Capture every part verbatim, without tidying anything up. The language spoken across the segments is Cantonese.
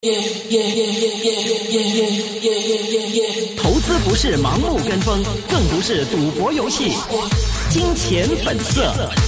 投資不是盲目跟風，更不是賭博遊戲。金錢本色。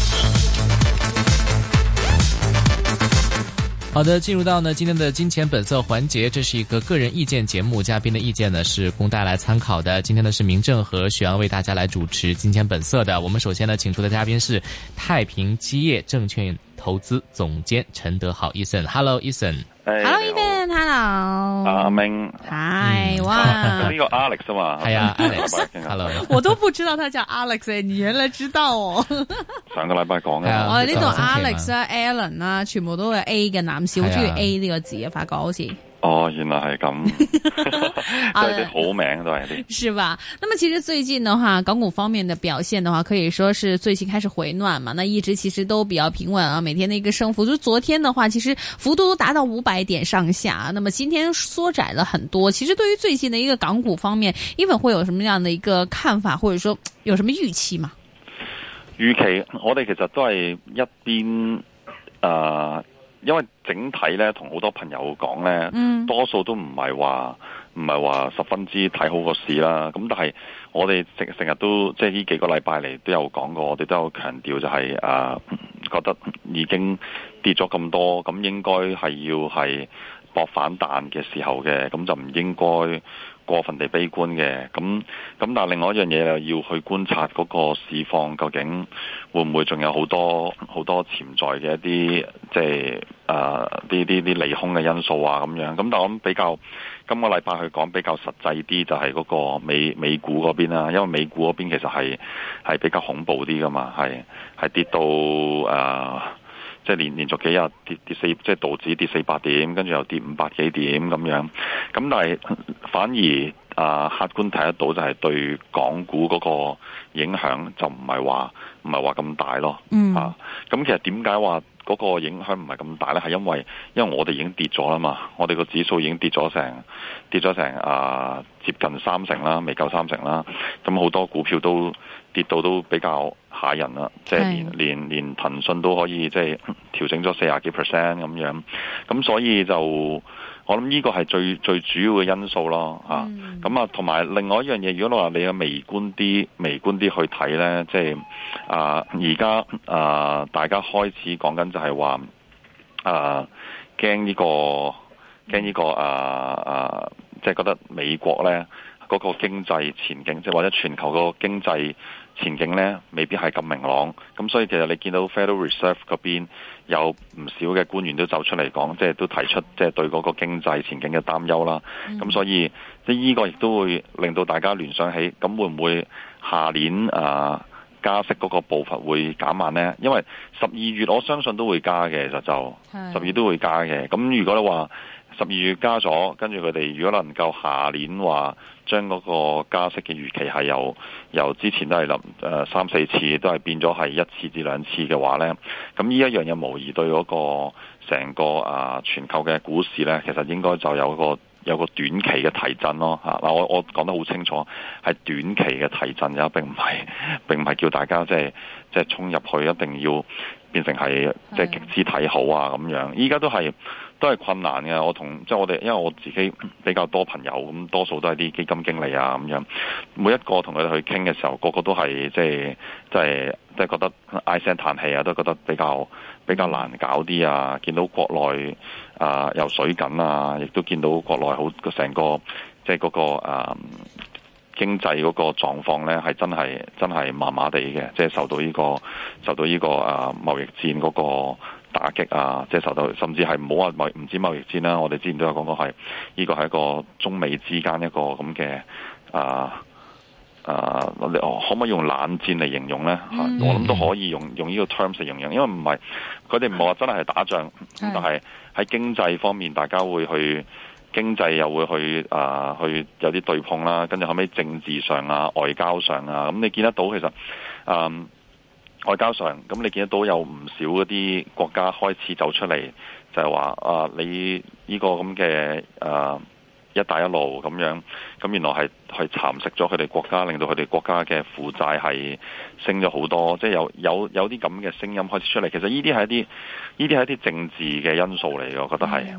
好的，進入到呢今天的金錢本色環節，這是一個個人意見節目，嘉賓的意見呢是供大家來參考的。今天呢是明正和許陽為大家來主持金錢本色的。我們首先呢請出的嘉賓是太平基業證券投資總監陳德豪 Ethan。Hello Ethan。Hello Ethan。Hello。 阿明。 嗨，哇。 呢個 Alex 啊嘛。 係啊 ，Alex。Hello。 我都不知道他叫 Alex， 你原來知道哦。 上個禮拜講嘅。 我哋呢度 Alex 啊 ，Alan 啊，全部都係 A 嘅男士，好中意 A 呢個字啊，發覺好似。哦， 原來係咁，都係啲好名都係啲。 是吧？那麼其實最近的話，港股方面的表現的話，可以說是最近開始回暖嘛。那一直其實都比較平穩啊，每天的一個升幅，就昨天的話，其實幅度都達到五百點上下。那麼今天縮窄了很多。其實對於最近的一個港股方面，Even會有什麼樣的一個看法，或者說有什麼預期嗎？ 預期我哋其實都係一邊啊。呃因為整體咧，同好多朋友講咧，嗯、多數都唔係話唔係話十分之睇好個市啦。咁但係我哋成成日都即係呢幾個禮拜嚟都有講過，我哋都有強調就係、是、啊、呃，覺得已經跌咗咁多，咁應該係要係搏反彈嘅時候嘅，咁就唔應該過分地悲觀嘅。咁咁但係另外一樣嘢又要去觀察嗰個市況究竟會唔會仲有好多好多潛在嘅一啲即係啊啲啲啲利空嘅因素啊咁樣。咁但係我諗比較今個禮拜去講比較實際啲就係嗰個美美股嗰邊啦，因為美股嗰邊其實係係比較恐怖啲噶嘛，係係跌到啊。呃即係連連續幾日跌跌四，即係道指跌四百點，跟住又跌五百幾點咁樣。咁但係反而啊、呃，客觀睇得到就係對港股嗰個影響就唔係話唔係話咁大咯。嗯。啊，咁其實點解話嗰個影響唔係咁大咧？係因為因為我哋已經跌咗啦嘛，我哋個指數已經跌咗成跌咗成啊接近三成啦，未夠三成啦。咁好多股票都跌到都比較嚇人啦，即係連連連騰訊都可以即係調整咗四十幾 percent 咁樣，咁所以就我諗呢個係最最主要嘅因素咯嚇。咁、嗯、啊，同埋另外一樣嘢，如果你話你嘅微觀啲、微觀啲去睇咧，即係啊而家啊大家開始講緊就係話啊驚呢個驚呢個啊啊，即係覺得美國咧嗰個經濟前景，即係或者全球個經濟前景咧未必係咁明朗，咁所以其實你見到 Federal Reserve 嗰邊有唔少嘅官員都走出嚟講，即係都提出即係對嗰個經濟前景嘅擔憂啦。咁、嗯、所以即係呢個亦都會令到大家聯想起，咁會唔會下年啊加息嗰個步伐會減慢呢？因為十二月我相信都會加嘅，其實就十二月都會加嘅。咁如果你話十二月加咗，跟住佢哋如果能夠下年話將嗰個加息嘅預期係由由之前都係諗誒三四次都係變咗係一次至兩次嘅話呢，咁呢一樣嘢無疑對嗰個成個啊全球嘅股市呢，其實應該就有個有個短期嘅提振咯嚇。嗱，我我講得好清楚，係短期嘅提振啫，並唔係並唔係叫大家即係即係衝入去一定要變成係即係極之睇好啊咁樣。依家都係。都係困難嘅，我同即係我哋，因為我自己比較多朋友，咁多數都係啲基金經理啊咁樣，每一個同佢哋去傾嘅時候，個個都係即係即係即係覺得唉聲嘆氣啊，都覺得比較比較難搞啲啊，見到國內啊有水緊啊，亦都見到國內好成個即係嗰個啊經濟嗰個狀況咧，係真係真係麻麻地嘅，即係受到呢個受到呢個啊貿易戰嗰個打擊啊，即係受到，甚至係唔好話貿唔止貿易戰啦。我哋之前都有講過係，呢個係一個中美之間一個咁嘅啊啊，可唔可以用冷戰嚟形容咧？嗯、我諗都可以用用呢個 terms 嚟形容，因為唔係佢哋唔係話真係打仗，嗯、但係喺經濟方面，大家會去經濟又會去啊去有啲對碰啦，跟住後尾政治上啊、外交上啊，咁你見得到其實嗯。外交上，咁你見得到有唔少嗰啲國家開始走出嚟，就係話啊，你呢個咁嘅啊一帶一路咁樣，咁原來係係蠶食咗佢哋國家，令到佢哋國家嘅負債係升咗好多，即係有有有啲咁嘅聲音開始出嚟。其實呢啲係一啲呢啲係一啲政治嘅因素嚟嘅，我覺得係。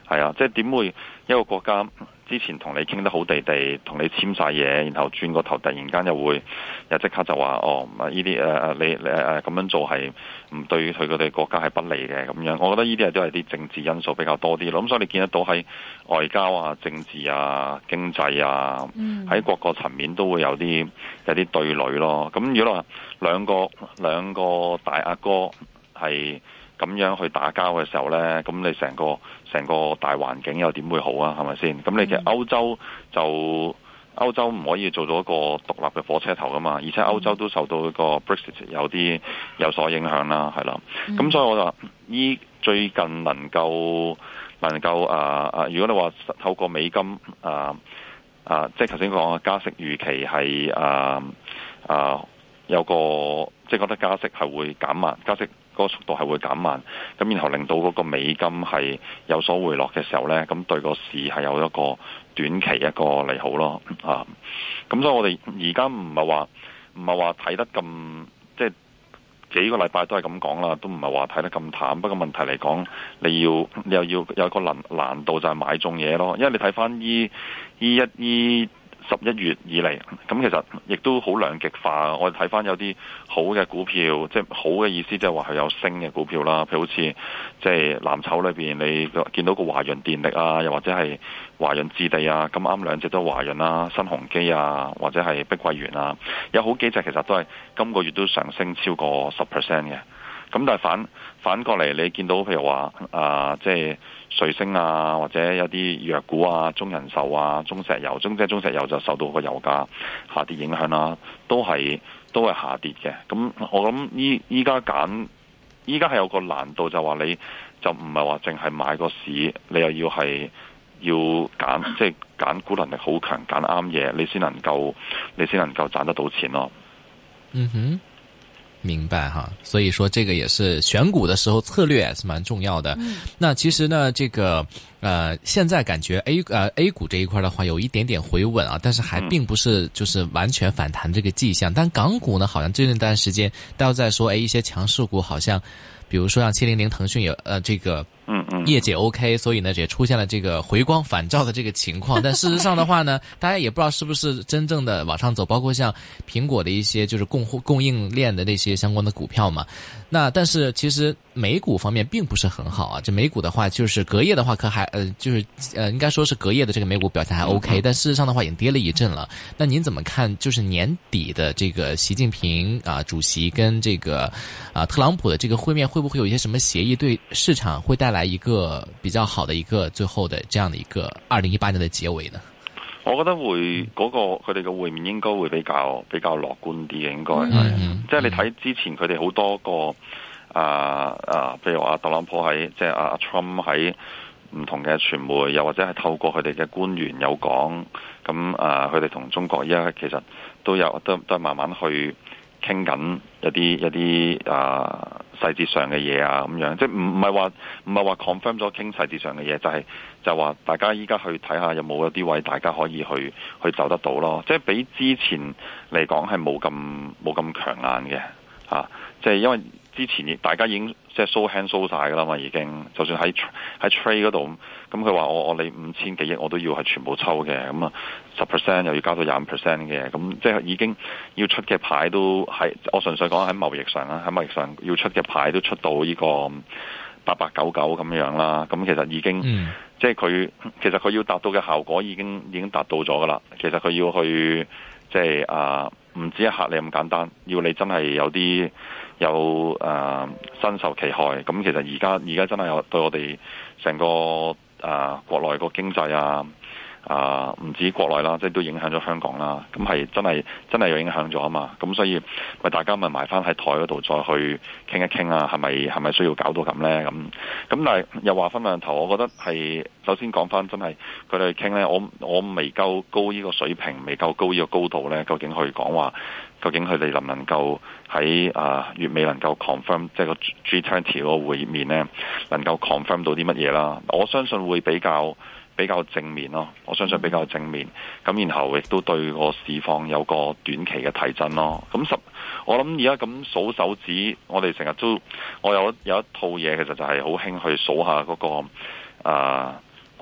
係啊，即係點會一個國家之前同你傾得好地地，同你簽晒嘢，然後轉個頭突然間又會又即刻就話哦，呢啲誒誒你誒誒咁樣做係唔對佢哋國家係不利嘅咁樣。我覺得呢啲係都係啲政治因素比較多啲咯。咁所以你見得到喺外交啊、政治啊、經濟啊，喺各個層面都會有啲有啲對壘咯。咁如果話兩個兩個大阿哥係咁樣去打交嘅時候呢，咁你成個成個大環境又點會好啊？係咪先？咁你其實歐洲就歐洲唔可以做到一個獨立嘅火車頭噶嘛，而且歐洲都受到一個 Brexit 有啲有所影響啦，係啦。咁、嗯、所以我就話依最近能夠能夠啊啊，如果你話透過美金啊啊，即係頭先講嘅加息預期係啊啊有個即係覺得加息係會減慢，加息嗰個速度係會減慢，咁然後令到嗰個美金係有所回落嘅時候呢，咁對個市係有一個短期一個利好咯，啊，咁所以我哋而家唔係話唔係話睇得咁，即係幾個禮拜都係咁講啦，都唔係話睇得咁淡。不過問題嚟講，你要你又要有個難難度就係買中嘢咯，因為你睇翻依依一依。十一月以嚟，咁其實亦都好兩極化。我哋睇翻有啲好嘅股票，即係好嘅意思，即係話係有升嘅股票啦。譬如好似即係藍籌裏邊，你見到個華潤電力啊，又或者係華潤置地啊，咁啱兩隻都華潤啦、新鴻基啊，或者係碧桂園啊，有好幾隻其實都係今個月都上升超過十 percent 嘅。咁但係反反過嚟，你見到譬如話啊，即係瑞星啊，或者有啲藥股啊，中人壽啊，中石油，中即係中石油就受到個油價下跌影響啦，都係都係下跌嘅。咁我諗依依家揀，依家係有個難度，就話你就唔係話淨係買個市，你又要係要揀，即係揀股能力好強，揀啱嘢，你先能夠你先能夠賺得到錢咯。 嗯哼。明白哈，所以說這個也是選股的時候策略也是蠻重要的。嗯、那其實呢，這個呃，現在感覺 A 呃 A 股這一塊的話有一點點回穩啊，但是還並不是就是完全反彈這個跡象。但港股呢，好像這段時間大家在說，誒一些強勢股好像，比如說像七零零騰訊有呃這個。嗯嗯，業績 OK，所以呢也出現了這個回光返照的這個情況。但事實上的話呢，大家也不知道是不是真正的往上走，包括像蘋果的一些就是供供應鏈的那些相關的股票嘛。那但是其實美股方面並不是很好啊。這美股的話，就是隔夜的話可還呃就是呃應該說是隔夜的這個美股表現還 OK，但事實上的話已經跌了一陣了。那您怎麼看？就是年底的這個習近平啊主席跟這個啊特朗普的這個會面，會不會有一些什麼協議對市場會帶來一個比較好的一個最後的這樣的一個二零一八年的結尾呢？ 我覺得會嗰、那個佢哋嘅會面應該會比較比較樂觀啲嘅，應該係，嗯嗯、即係你睇之前佢哋好多個啊啊，譬如話特朗普喺即係阿 Trump 喺唔同嘅傳媒，又或者係透過佢哋嘅官員有講，咁啊佢哋同中國依家其實都有都都係慢慢去傾緊一啲一啲啊細節上嘅嘢啊咁樣，即係唔唔係話唔係話 confirm 咗傾細節上嘅嘢，就係、是、就話大家依家去睇下有冇一啲位大家可以去去走得到咯，即係比之前嚟講係冇咁冇咁強硬嘅嚇，即係因為之前大家已經即係 show hand show 曬㗎啦嘛，已經就算喺喺 trade 嗰度，咁佢話我我你五千幾億我都要係全部抽嘅，咁啊十 percent 又要加到廿五 percent 嘅，咁即係已經要出嘅牌都係我純粹講喺貿易上啦，喺貿易上要出嘅牌都出到呢個八八九九咁樣啦，咁其實已經、嗯、即係佢其實佢要達到嘅效果已經已經達到咗㗎啦，其實佢要去即係啊唔止係嚇你咁簡單，要你真係有啲。有誒、呃、身受其害，咁其實而家而家真係有對我哋成個誒、呃、國內個經濟啊啊唔止國內啦，即係都影響咗香港啦。咁係真係真係有影響咗啊嘛。咁所以咪大家咪埋翻喺台嗰度再去傾一傾啊，係咪係咪需要搞到咁咧？咁咁但係又話分兩頭，我覺得係首先講翻真係佢哋傾咧，我我未夠高呢個水平，未夠高呢個高度咧，究竟去講話。究竟佢哋能唔能夠喺啊月尾能夠 confirm 即係個 G 二十嗰個會面咧，能夠 confirm 到啲乜嘢啦？我相信會比較比較正面咯。我相信比較正面，咁然後亦都對個市況有個短期嘅提振咯。咁十我諗而家咁數手指，我哋成日都我有有一套嘢，其實就係好興去數下嗰個啊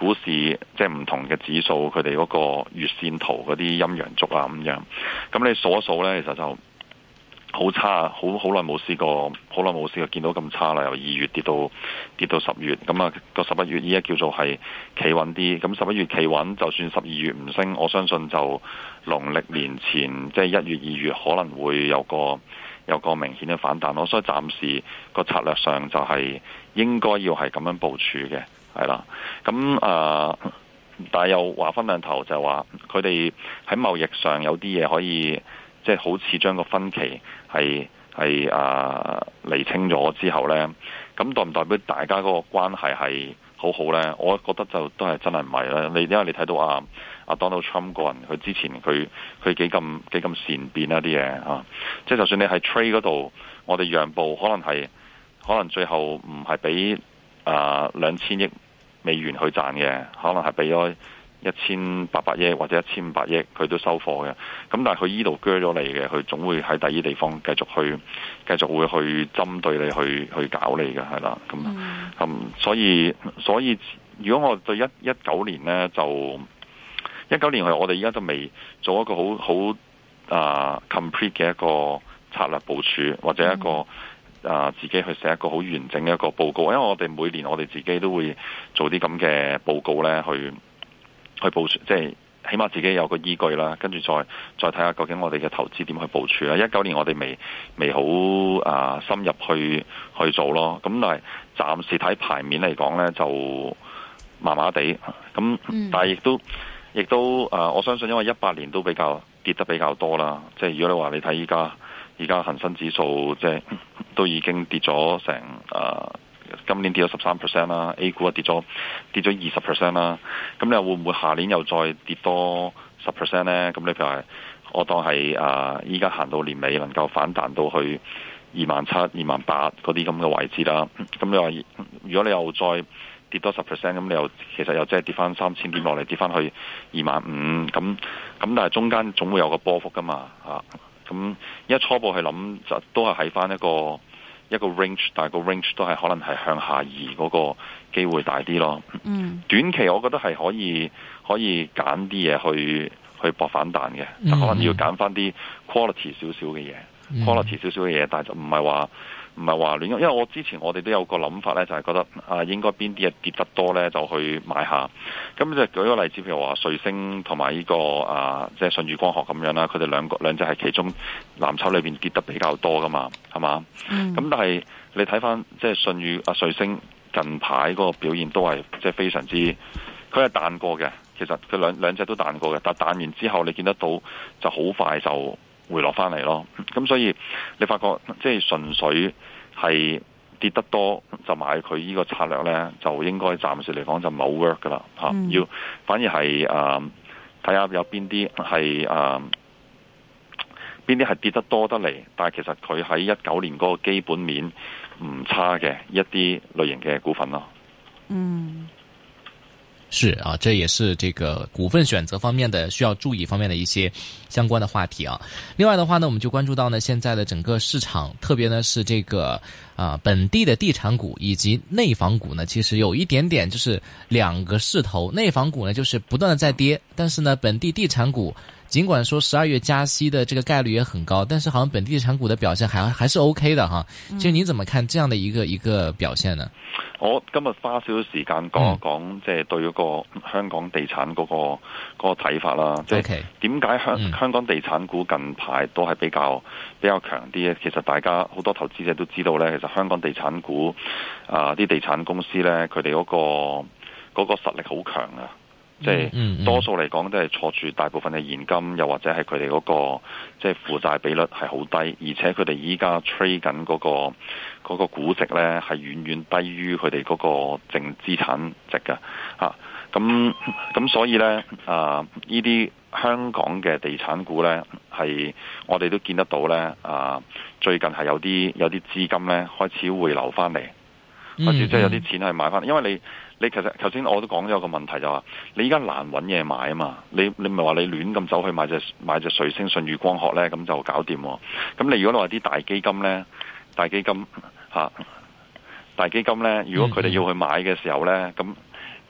股市即係唔同嘅指數，佢哋嗰個月線圖嗰啲陰陽燭啊咁樣，咁你數一數咧，其實就好差，好好耐冇試過，好耐冇試過見到咁差啦。由二月跌到跌到十月，咁啊個十一月依家叫做係企穩啲。咁十一月企穩，就算十二月唔升，我相信就農曆年前即係一月二月可能會有個有個明顯嘅反彈咯。所以暫時個策略上就係應該要係咁樣部署嘅，係啦。咁啊、呃，但係又話分兩頭，就係話佢哋喺貿易上有啲嘢可以。即係好似將個分歧係係啊釐清咗之後呢，咁代唔代表大家嗰個關係係好好呢？我覺得就都係真係唔係啦。你因為你睇到啊啊 Donald Trump 個人，佢之前佢佢幾咁幾咁善變一啲嘢啊，即係就算你喺 trade 嗰度，我哋讓步，可能係可能最後唔係俾啊兩千億美元去賺嘅，可能係俾咗一千八百億或者一千五百億，佢都收貨嘅。咁但係佢依度鋸咗你嘅，佢總會喺第二地方繼續去，繼續會去針對你去去搞你嘅，係啦。咁咁、嗯嗯、所以所以如果我對一一九年呢，就一九年我哋而家就未做一個好好啊 complete 嘅一個策略部署，或者一個啊、嗯呃、自己去寫一個好完整嘅一個報告。因為我哋每年我哋自己都會做啲咁嘅報告呢，去。去部署，即係起碼自己有個依據啦，跟住再再睇下究竟我哋嘅投資點去部署啦。一九年我哋未未好啊、呃、深入去去做咯，咁但係暫時睇牌面嚟講呢，就麻麻地，咁但係亦都亦都啊、呃，我相信因為一八年都比較跌得比較多啦，即係如果你話你睇依家依家恒生指數即係都已經跌咗成啊。呃今年跌咗十三 percent 啦 ，A 股啊跌咗跌咗二十 percent 啦。咁你又會唔會下年又再跌多十 percent 咧？咁你譬如話，我當係啊，依家行到年尾能夠反彈到去二萬七、二萬八嗰啲咁嘅位置啦。咁你話，如果你又再跌多十 percent，咁你又其實又即係跌翻三千點落嚟，跌翻去二萬五。咁咁但係中間總會有個波幅噶嘛嚇。咁一初步去諗就都係喺翻一個。一個 range，但係個 range 都係可能係向下移嗰個機會大啲咯。嗯，短期我覺得係可以可以揀啲嘢去去搏反彈嘅，就可能要揀翻啲 quality 少少嘅嘢，quality 少少嘅嘢，但係就唔係話唔係話亂，因為我之前我哋都有個諗法咧，就係、是、覺得啊應該邊啲嘢跌得多咧，就去買下。咁就舉個例子，譬如話瑞星同埋呢個啊，即係舜宇光學咁樣啦，佢哋兩個兩隻係其中藍籌裏邊跌得比較多噶嘛，係嘛？咁、嗯、但係你睇翻即係舜宇啊瑞星近排嗰個表現都係即係非常之，佢係彈過嘅，其實佢兩兩隻都彈過嘅，但係彈完之後你見得到就好快就回落翻嚟咯。咁所以你發覺即係純粹係跌得多就買佢呢個策略咧，就應該暫時嚟講就唔係好 work 噶啦嚇。嗯、要反而係誒睇下有邊啲係誒邊啲係跌得多得嚟，但係其實佢喺一九年嗰個基本面唔差嘅一啲類型嘅股份咯。 嗯。 是啊，這也是這個股份選擇方面的需要注意方面的一些相關的話題啊。另外的話呢，我們就關注到呢現在的整個市場，特別呢是這個啊、呃、本地的地產股以及內房股呢，其實有一點點就是兩個勢頭。內房股呢就是不斷的在跌，但是呢本地地產股盡管說十二月加息的這個概率也很高，但是好像本地地產股的表現還還是 OK 的哈。其實你怎麼看這樣的一個一個表現呢？ 我今日花少少時間講一講，即係對嗰個香港地產嗰個嗰個睇法啦。即係點解香香港地產股近排都係比較比較強啲咧？其實大家好多投資者都知道咧，其實香港地產股啊，啲地產公司咧，佢哋嗰個嗰個實力好強啊！即係多數嚟講都係坐住大部分嘅現金，又或者係佢哋嗰個即係負債比率係好低，而且佢哋依家 trade 緊嗰個嗰個估值咧係遠遠低於佢哋嗰個淨資產值嘅嚇。咁咁所以咧啊，呢啲香港嘅地產股咧係我哋都見得到咧啊，最近係有啲有啲資金咧開始回流翻嚟，開始即係有啲錢係買翻，因為你。你其實頭先我都講咗個問題就話，你依家難揾嘢買啊嘛，你你唔係話你亂咁走去買隻買隻瑞星舜宇光學咧，咁就搞掂喎。咁你如果你話啲大基金咧，大基金嚇、啊，大基金咧，如果佢哋要去買嘅時候咧，咁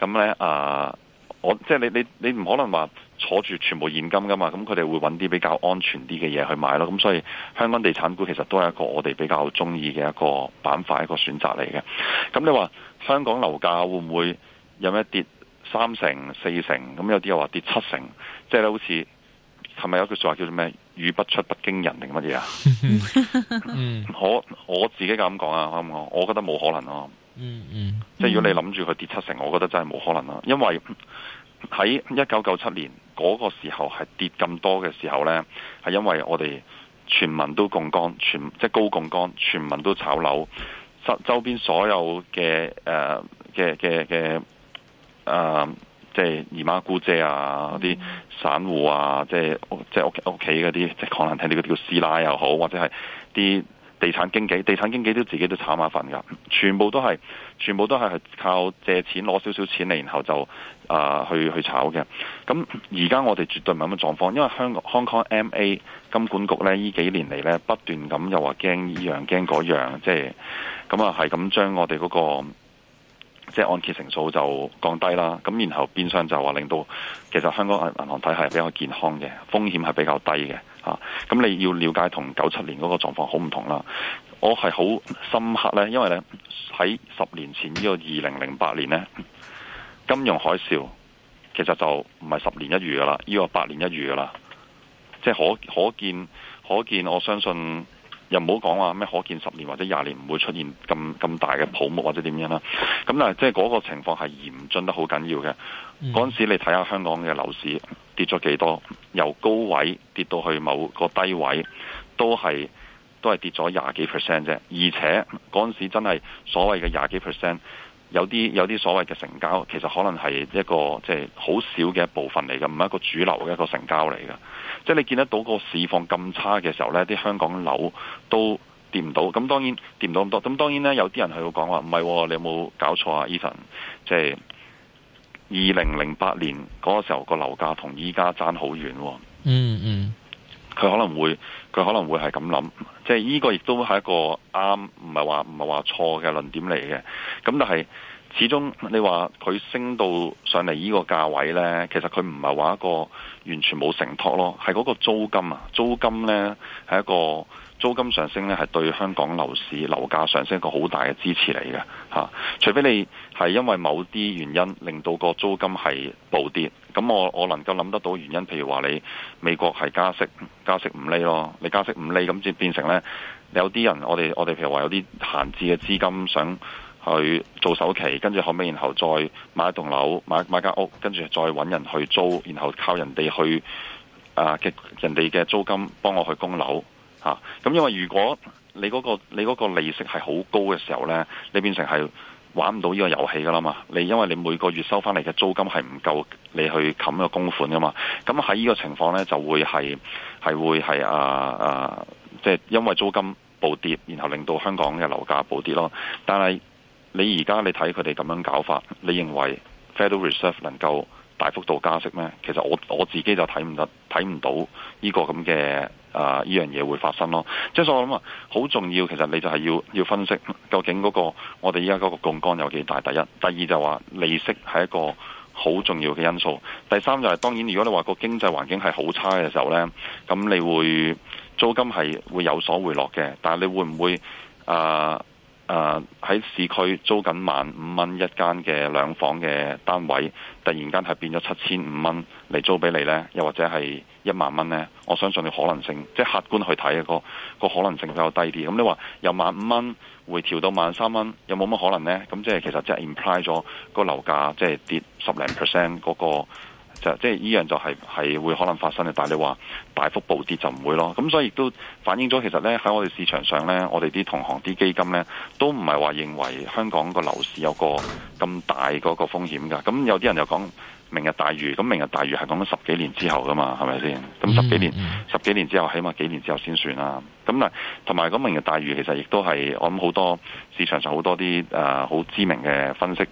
咁咧啊，我即係你你你唔可能話坐住全部現金噶嘛，咁佢哋會揾啲比較安全啲嘅嘢去買咯。咁所以香港地產股其實都係一個我哋比較中意嘅一個板塊，一個選擇嚟嘅。咁你話香港樓價會唔會有咩跌三成、四成？咁有啲又話跌七成，即係咧好似係咪有句說話叫做咩？語不出不驚人定乜嘢啊？我我自己咁講啊，我我覺得冇可能咯。 嗯嗯， 即係如果你諗住佢跌七成，我覺得真係冇可能咯。因為喺一九九七年嗰個時候係跌咁多嘅時候呢，係因為我哋全民都槓桿，全即係高槓桿，全民都炒樓，周周邊所有嘅誒嘅嘅嘅誒，即係姨媽姑姐啊，嗰啲散戶啊，即係即係屋屋企嗰啲，即係可能睇你嗰啲叫師奶又好，或者係啲地產經紀，地產經紀都自己都炒馬粉噶，全部都係，全部都係靠借錢攞少少錢嚟，然後就啊、呃、去去炒嘅。咁而家我哋絕對唔係咁嘅狀況，因為香港 Hong Kong M A 金管局咧呢幾年嚟咧不斷咁又話驚呢樣驚嗰樣，即係咁啊係咁將我哋嗰、嗰個即係按揭成數就降低啦。咁然後變相就話令到其實香港銀行體系係比較健康嘅，風險係比較低嘅。啊，咁你要了解同九七年嗰個狀況好唔同啦。我係好深刻呢，因為呢喺十年前呢個二零零八年呢，金融海嘯其實就唔係十年一遇噶啦，呢個八年一遇噶啦。即係可可見可見，我相信又唔好講話咩可見十年或者廿年唔會出現咁咁大嘅泡沫或者點樣啦。咁但係即係嗰個情況係嚴峻得好緊要嘅。嗰陣、嗯、時你睇下香港嘅樓市跌咗幾多，由高位跌到去某個低位，都係都係跌咗廿幾 percent 啫。而且嗰陣時真係所謂嘅廿幾 percent，有啲有啲所謂嘅成交，其實可能係一個即係好少嘅一部分嚟嘅，唔係一個主流嘅一個成交嚟嘅。即係你見得到個市況咁差嘅時候呢，啲香港樓都跌唔到。咁當然跌唔到咁多。咁當然呢，有啲人係會講話唔係，你有冇搞錯啊 Ethan？ 即係二零零八年嗰個時候個樓價同依家爭好遠。 嗯嗯， 佢可能會佢可能會係咁諗。即係呢個亦都係一個啱，唔係話唔係話錯嘅論點嚟嘅。咁但係始終你話佢升到上嚟呢個價位呢，其實佢唔係話一個完全冇承托咯，係嗰個租金啊，租金呢係一個租金上升呢，係對香港樓市樓價上升一個好大嘅支持嚟嘅嚇。除非你係因為某啲原因令到個租金係暴跌，咁我我能夠諗得到原因，譬如話你美國係加息加息五厘咯，你加息五厘咁即變成呢，有啲人我哋我哋譬如話有啲閒置嘅資金想去做首期，跟住後尾然後再買一棟樓，買買間屋，跟住再揾人去租，然後靠人哋去啊嘅、呃、人哋嘅租金幫我去供樓嚇。咁、啊、因為如果你嗰、嗰個你嗰個利息係好高嘅時候呢，你變成係玩唔到呢個遊戲噶啦嘛。你因為你每個月收翻嚟嘅租金係唔夠你去冚個供款噶嘛。咁喺呢個情況呢，就會係係會係啊啊，即係因為租金暴跌，然後令到香港嘅樓價暴跌咯。但係你而家你睇佢哋咁樣搞法，你認為 Federal Reserve 能夠大幅度加息咩？其實我我自己就睇唔得睇唔到呢個咁嘅啊呢樣嘢會發生咯。即係所以我諗啊，好重要。其實你就係要要分析究竟嗰個我哋依家嗰個槓桿有幾大。第一，第二就話利息係一個好重要嘅因素。第三就係當然，如果你話個經濟環境係好差嘅時候呢，咁你會租金係會有所回落嘅。但係你會唔會啊？呃誒喺、uh, 市區租緊萬五蚊一間嘅兩房嘅單位，突然間係變咗七千五蚊嚟租俾你呢？又或者係一萬蚊呢？我相信你可能性，即係客觀去睇嘅個個可能性比較低啲。咁你話由萬五蚊回調到萬三蚊，有冇乜可能呢？咁即係其實即係 imply 咗個樓價即係跌十零 percent 嗰個。就即係依樣就係係會可能發生嘅，但係你話大幅暴跌就唔會咯。咁所以亦都反映咗其實咧喺我哋市場上咧，我哋啲同行啲基金咧都唔係話認為香港個樓市有個咁大嗰個風險㗎。咁有啲人就講明日大嶼，咁明日大嶼係講緊十幾年之後㗎嘛，係咪先？咁十幾年、嗯、十幾年之後，起碼幾年之後先算啦。咁嗱，同埋咁明日大嶼其實亦都係我諗好多市場上好多啲誒好知名嘅分析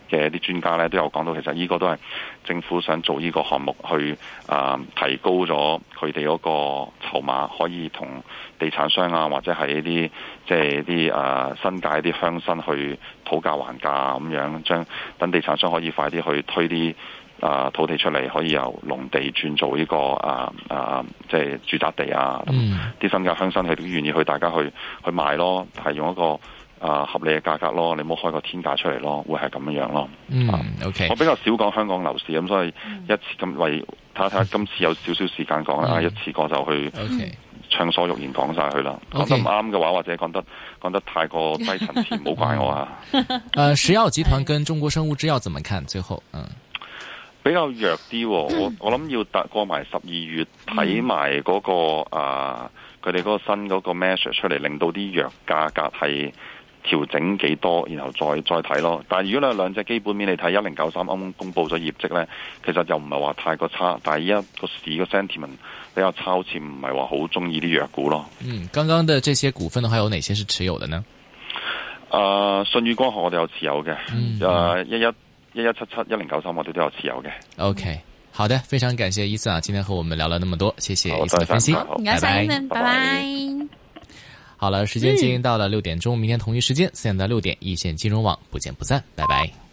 嘅啲專家咧都有講到，其實呢個都係政府想做呢個項目去啊、呃、提高咗佢哋嗰個籌碼，可以同地產商啊或者係一啲即係啲啊新界啲鄉紳去討價還價咁樣，將等地產商可以快啲去推啲啊土地出嚟，可以由農地轉做呢、這個啊啊即係住宅地啊，啲、嗯、新界鄉紳佢都願意去大家去去賣咯，係用一個啊合理嘅價格咯，你唔好開個天價出嚟咯，會係咁樣樣咯。 嗯、 啊、 OK， 我比較少講香港樓市咁，所以一次咁為睇下睇下今次有少少時間講啦，嗯、一次過就去暢所欲言講晒佢啦。講、okay. 得唔啱嘅話，或者講得講得太過低層次，唔好怪我啊。 呃，石藥集團跟中國生物製藥怎麼看？最後，嗯， 比較弱啲、哦，我我諗要達過埋十二月睇埋嗰個啊，佢哋嗰個新嗰個 measure 出嚟，令到啲藥價格係調整幾多，然後再再睇咯。但係如果你兩隻基本面你睇一零九三啱啱公布咗業績咧，其實又唔係話太過差。但係依家個市個 sentiment 比較差，好似唔係話好中意啲藥股咯。 嗯，剛剛的這些股份的話，有哪些是持有的呢？ 誒、呃，舜宇光學我哋有持有嘅，誒一一一一七七一零九三我哋都有持有嘅。 OK， 好的，非常感謝伊森啊，今天和我們聊了那麼多，謝謝伊森的分析， 拜拜，拜拜。 好了，時間進行到了六點鐘，明天同一時間四點到六點，一線金融網不見不散，拜拜。